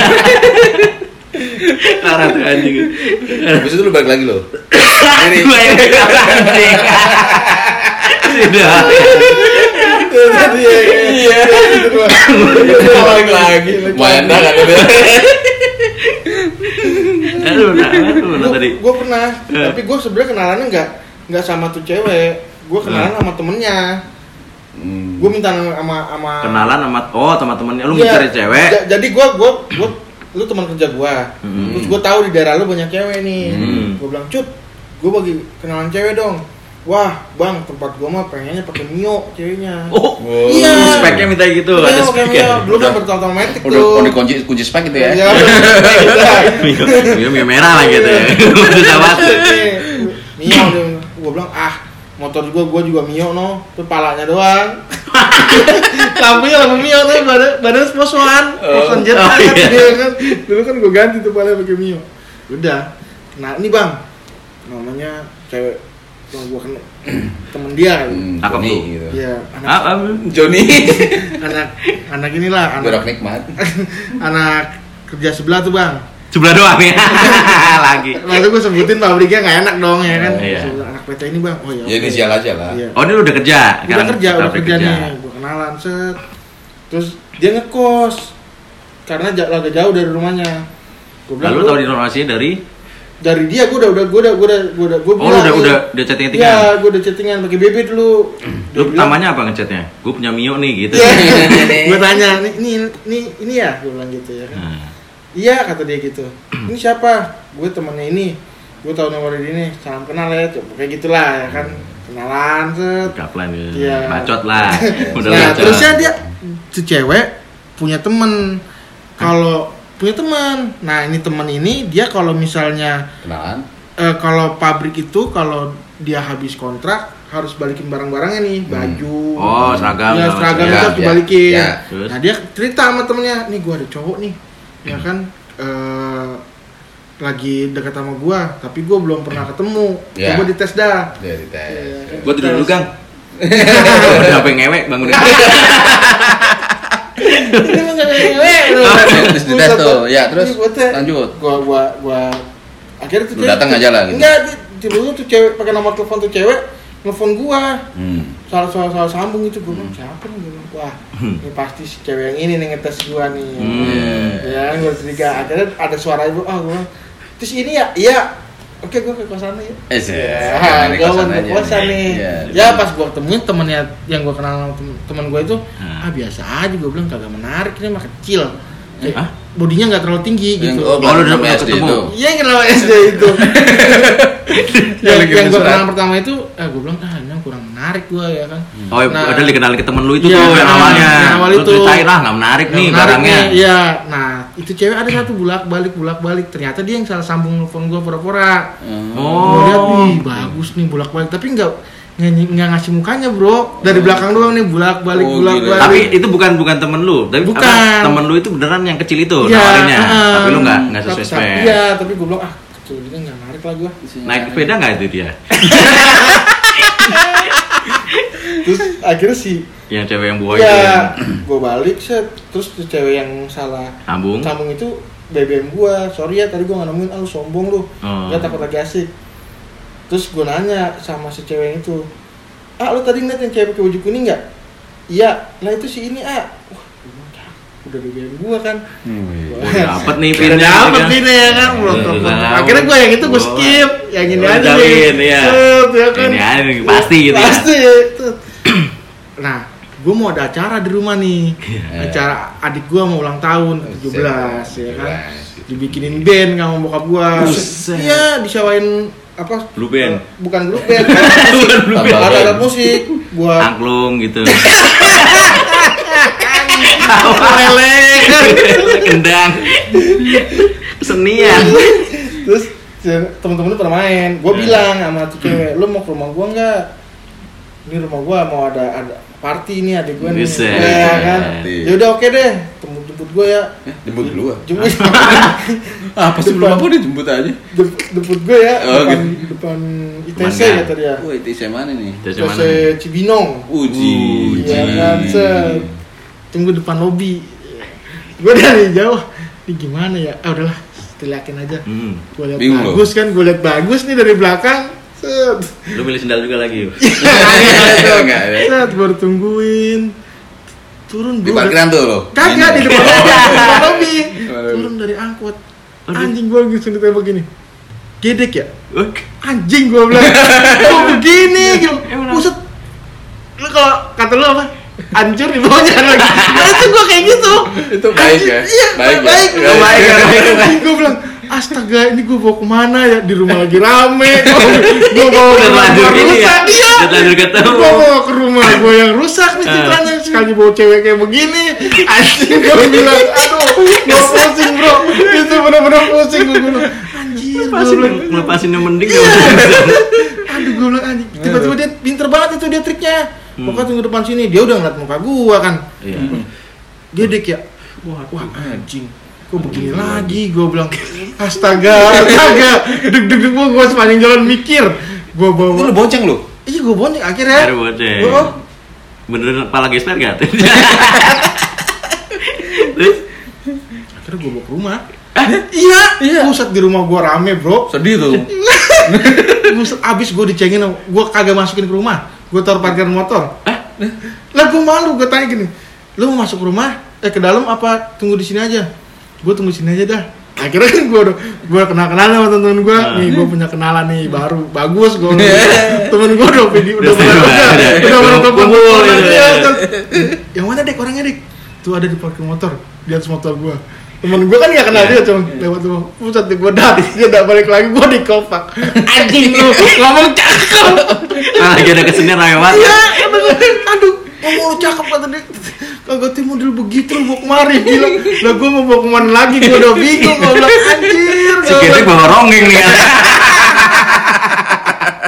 Speaker 1: Parah tuh anjing.
Speaker 3: Habis itu lu balik lagi lo.
Speaker 1: Gue yang anjing. Sudah.
Speaker 2: Iya.
Speaker 3: Balik lagi. Main dah kan itu.
Speaker 1: Tadi.
Speaker 2: Gue pernah, tapi gue sebenarnya kenalannya nggak sama tuh cewek. Gue kenalan sama temennya. Gue minta sama
Speaker 1: kenalan sama temennya. Lu mencari cewek.
Speaker 2: Jadi gue lu teman kerja gue. Terus gue tahu di daerah lu banyak cewek nih. Gue bilang, Cut, gue bagi kenalan cewek dong. Wah, bang, tempat gue mah pengennya pakai Mio ceweknya.
Speaker 1: Iya. Speknya minta gitu.
Speaker 2: Iya,
Speaker 1: ada speknya.
Speaker 2: Dulu kan bertahun-tahun tuh.
Speaker 3: Udah dikunci spek gitu ya.
Speaker 1: Mio merah lah gitu ya. Susah banget.
Speaker 2: Mio, gue bilang, motor gue juga Mio no, tuh palanya doang. Lampunya lampu Mio tuh, badan spos-1 jet kan. Dulu kan gue ganti tuh palanya pakai Mio. Udah. Nah, ini bang, namanya cewek yang gue kenal, temen dia.
Speaker 3: Johnny gitu.
Speaker 2: Iya.
Speaker 3: Johnny.
Speaker 2: Anak inilah.
Speaker 3: Berak nikmat.
Speaker 2: Anak kerja sebelah tuh bang.
Speaker 1: Sebelah doang ya. Lagi.
Speaker 2: Lalu gue sebutin pabriknya nggak enak dong ya kan.
Speaker 1: Iya.
Speaker 2: Anak PT ini bang. Oh ya.
Speaker 3: Ya inisial aja lah.
Speaker 2: Iya.
Speaker 1: Oh, ini udah kerja.
Speaker 2: Udah kerja nih. Gue kenalan set. Terus dia ngekos karena agak jauh dari rumahnya.
Speaker 1: Lalu tahu informasinya dari
Speaker 2: dari dia gue udah
Speaker 1: chattingan.
Speaker 2: Iya, gue udah chattingan pakai BB dulu.
Speaker 1: Lu pertamanya apa ngechatnya? Gue punya Mio nih gitu.
Speaker 2: Gue tanya, ini ya, gue bilang gitu ya kan. Iya kata dia gitu. Ini siapa? Gue temannya ini. Gue tahu nomor ini. Salam kenal ya, kayak gitulah ya kan. Kenalan set.
Speaker 1: Kaplan gitu.
Speaker 2: Iya.
Speaker 1: Bacot lah. Udah
Speaker 2: Nah,
Speaker 1: bacot.
Speaker 2: terusnya dia si cewek punya temen. Kalau punya teman. Nah, ini teman ini dia kalau misalnya
Speaker 3: Kenalan.
Speaker 2: Kalau pabrik itu kalau dia habis kontrak harus balikin barang-barangnya nih, baju.
Speaker 1: Oh, seragam.
Speaker 2: Ya, seragam
Speaker 3: Ya,
Speaker 2: itu harus
Speaker 3: ya,
Speaker 2: dibalikin.
Speaker 3: ya.
Speaker 1: Terus?
Speaker 2: Nah, dia cerita sama temennya, nih gua ada cowok nih. Ya kan lagi dekat sama gua, tapi gua belum pernah ketemu.
Speaker 3: Ya.
Speaker 2: Coba dites dah.
Speaker 3: Dia dites.
Speaker 1: Gue tidur dulu, Kang. Udah apa yang ngewek bangun.
Speaker 2: Ini mah gak ngewek.
Speaker 3: Terus dites tuh. Ya, terus lanjut.
Speaker 2: Gua akhirnya tuh
Speaker 3: Lu datang aja lah gitu.
Speaker 2: Enggak, tiba-tiba tuh cewek pakai nomor telepon tuh cewek nelfon gua. Salah sambung itu gua bilang siapa nih? Gua bilang, wah, ini pasti si cewek yang ini nih ngetes gua nih. Ya, gua curiga. Akhirnya ada suara ibu, gua bilang, terus ini ya? Iya. Oke, gua ke kosan ya. Gua mau ke kosan nih. Ya, pas gua ketemuin temennya yang gua kenal sama temen gua itu, biasa aja. Gua bilang kagak menarik, ini mah kecil. Bodinya nggak terlalu tinggi gitu.
Speaker 3: Oh,
Speaker 1: lu udah
Speaker 3: udah
Speaker 1: ketemu
Speaker 3: itu.
Speaker 2: Iya, yang kenal SD itu. yang gue kenal pertama itu, gue bilang, ini kurang menarik gue ya kan.
Speaker 1: Oh, padahal dikenalin ke temen lu itu
Speaker 2: iya,
Speaker 1: tuh yang awalnya.
Speaker 2: Yang awal
Speaker 1: Lu
Speaker 2: itu.
Speaker 1: ceritain lah, nggak menarik nih barangnya.
Speaker 2: Iya, nah itu cewek ada satu bolak-balik. Ternyata dia yang salah sambung telepon gue pura-pura. Gue lihat, wih bagus nih bolak-balik. Tapi nggak ngasih mukanya bro, dari belakang doang nih bolak-balik.
Speaker 1: Tapi itu bukan temen lu, tapi
Speaker 2: Bukan.
Speaker 1: apa, temen lu itu beneran yang kecil itu
Speaker 2: Ya,
Speaker 1: nawarinnya. Tapi lu nggak sesuai spek.
Speaker 2: Iya, tapi gue bilang kecil dia nggak menarik lah gue.
Speaker 1: Naik sepeda nggak itu dia?
Speaker 2: Terus akhirnya sih
Speaker 1: Yang cewek yang buah itu.
Speaker 2: ya, gue balik set. Terus tuh cewek yang salah
Speaker 1: Sambung.
Speaker 2: itu BBM gue. Sorry ya tadi gue nggak nemuin, lu sombong lu. Dia takut lagi asik. Terus gue nanya sama si cewek itu, lu tadi ngeliat yang cewek pakai baju kuning nggak? Iya, lah itu si ini Wah, udah BBM gue kan.
Speaker 1: Dapet nih
Speaker 2: Udah
Speaker 1: pinnya.
Speaker 2: dapet pinnya ya kan, belum telepon. Akhirnya gue yang itu gue skip, yang ini aja nih.
Speaker 1: Iya.
Speaker 2: Set, ya kan.
Speaker 1: Ini aja nih, pasti gitu ya.
Speaker 2: Pasti. Nah, gue mau ada acara di rumah nih. Acara adik gue mau ulang tahun 17 ya kan. Dibikinin band sama bokap gue. Iya, disewain apa?
Speaker 1: Blue band.
Speaker 2: Bukan blue band.
Speaker 3: Ada
Speaker 2: Ada musik buat
Speaker 1: Angklung gitu.
Speaker 2: lelek.
Speaker 1: Kendang. Kesenian.
Speaker 2: Terus temen-temen pada main. Gue bilang sama tuh cewek, lu mau ke rumah gue nggak? Ini rumah gue mau ada party nih adik gue nih.
Speaker 1: Bisa.
Speaker 2: Ya kan. Ya udah oke deh. Jemput gue ya.
Speaker 3: Jemput dulu.
Speaker 2: Jemput.
Speaker 3: Apa sih belum apa dijemput aja?
Speaker 2: Jemput gue ya.
Speaker 3: Oh,
Speaker 2: depan ITC
Speaker 1: Mana?
Speaker 2: kata dia.
Speaker 3: Wah, itu mana nih?
Speaker 1: Itu
Speaker 2: ITC
Speaker 1: mana?
Speaker 2: Cibinong.
Speaker 3: Uji.
Speaker 2: Iya kan, set. Tunggu depan lobi. Gue dari jauh. Ini gimana ya? Udahlah, teriakin aja. Gue lihat
Speaker 3: Bingung
Speaker 2: bagus kan, gue lihat bagus nih dari belakang. Set.
Speaker 1: Lu milih sendal juga lagi.
Speaker 3: Enggak ya.
Speaker 2: Set, baru tungguin. Turun
Speaker 3: Di
Speaker 2: gua
Speaker 3: parkiran tuh lo.
Speaker 2: kagak di depan lobi, di depan lobi.
Speaker 3: Waduh.
Speaker 2: Turun dari angkot. Anjing gue langsung ditembak gini. Gedek ya? Anjing gue bilang. Kok begini gitu. Buset. Lu kalau kata lu apa? Hancur di bawahnya lagi. Nah itu gue kayak gitu.
Speaker 3: Itu baik ya?
Speaker 2: Iya, baik.
Speaker 3: Baik.
Speaker 2: Gue bilang, astaga ini gue bawa kemana ya? Di rumah lagi rame. Gue bawa ke rumah rusak. Iya. Gue bawa ke rumah gue yang rusak nih citranya. Sekali bawa cewek kayak begini. Anjing gue bilang, aduh, gue pusing bro. Itu bener-bener pusing gue bilang. Anjir, gue bilang.
Speaker 1: Ngelepasin yang mending.
Speaker 2: Aduh gue bilang anjing. Tiba-tiba dia pinter banget itu dia triknya. Pokoknya tunggu depan sini, dia udah ngeliat muka gua kan.
Speaker 1: Iya.
Speaker 2: Gedek ya. Wah anjing. Kok begini lagi? Gua bilang, astaga. Deg-deg gua sepanjang jalan mikir. Gua bawa.
Speaker 3: Itu lu bonceng lu?
Speaker 2: Iya gua bonceng akhirnya.
Speaker 1: Baru bonceng. Beneran kepala gesper gak? Terus?
Speaker 2: Akhirnya gua bawa ke rumah. Iya. Pusat di rumah gua rame bro.
Speaker 3: Sedih tuh.
Speaker 2: Buset, abis gua dicengin, gua kagak masukin ke rumah. Gue taruh parkiran motor. Lah gue malu, gue tanya gini, lu mau masuk rumah? Ke dalam apa tunggu di sini aja? Gue tunggu di sini aja dah. Akhirnya kan gue kenal-kenalan sama temen gue, nih gue punya kenalan nih baru bagus gue. Temen gue udah menonton kumpul ya. Yang mana Dek orangnya Dek? Tuh ada di parkir motor, di atas motor gue. Temen gue kan gak kenal dia, cuma lewat tuh. Pusat gue dia udah balik lagi, gue di kompak. Anjing lu, ngomong cakep.
Speaker 1: Lagi ada kesenian lewat.
Speaker 2: Iya, aduh, ngomong lu cakep kata dia. Kagak tim model begitu lu bawa kemari bilang. Lah gue mau bawa kemana lagi, gue udah bingung. Gue bilang anjir.
Speaker 1: Sekiranya bawa rongeng nih.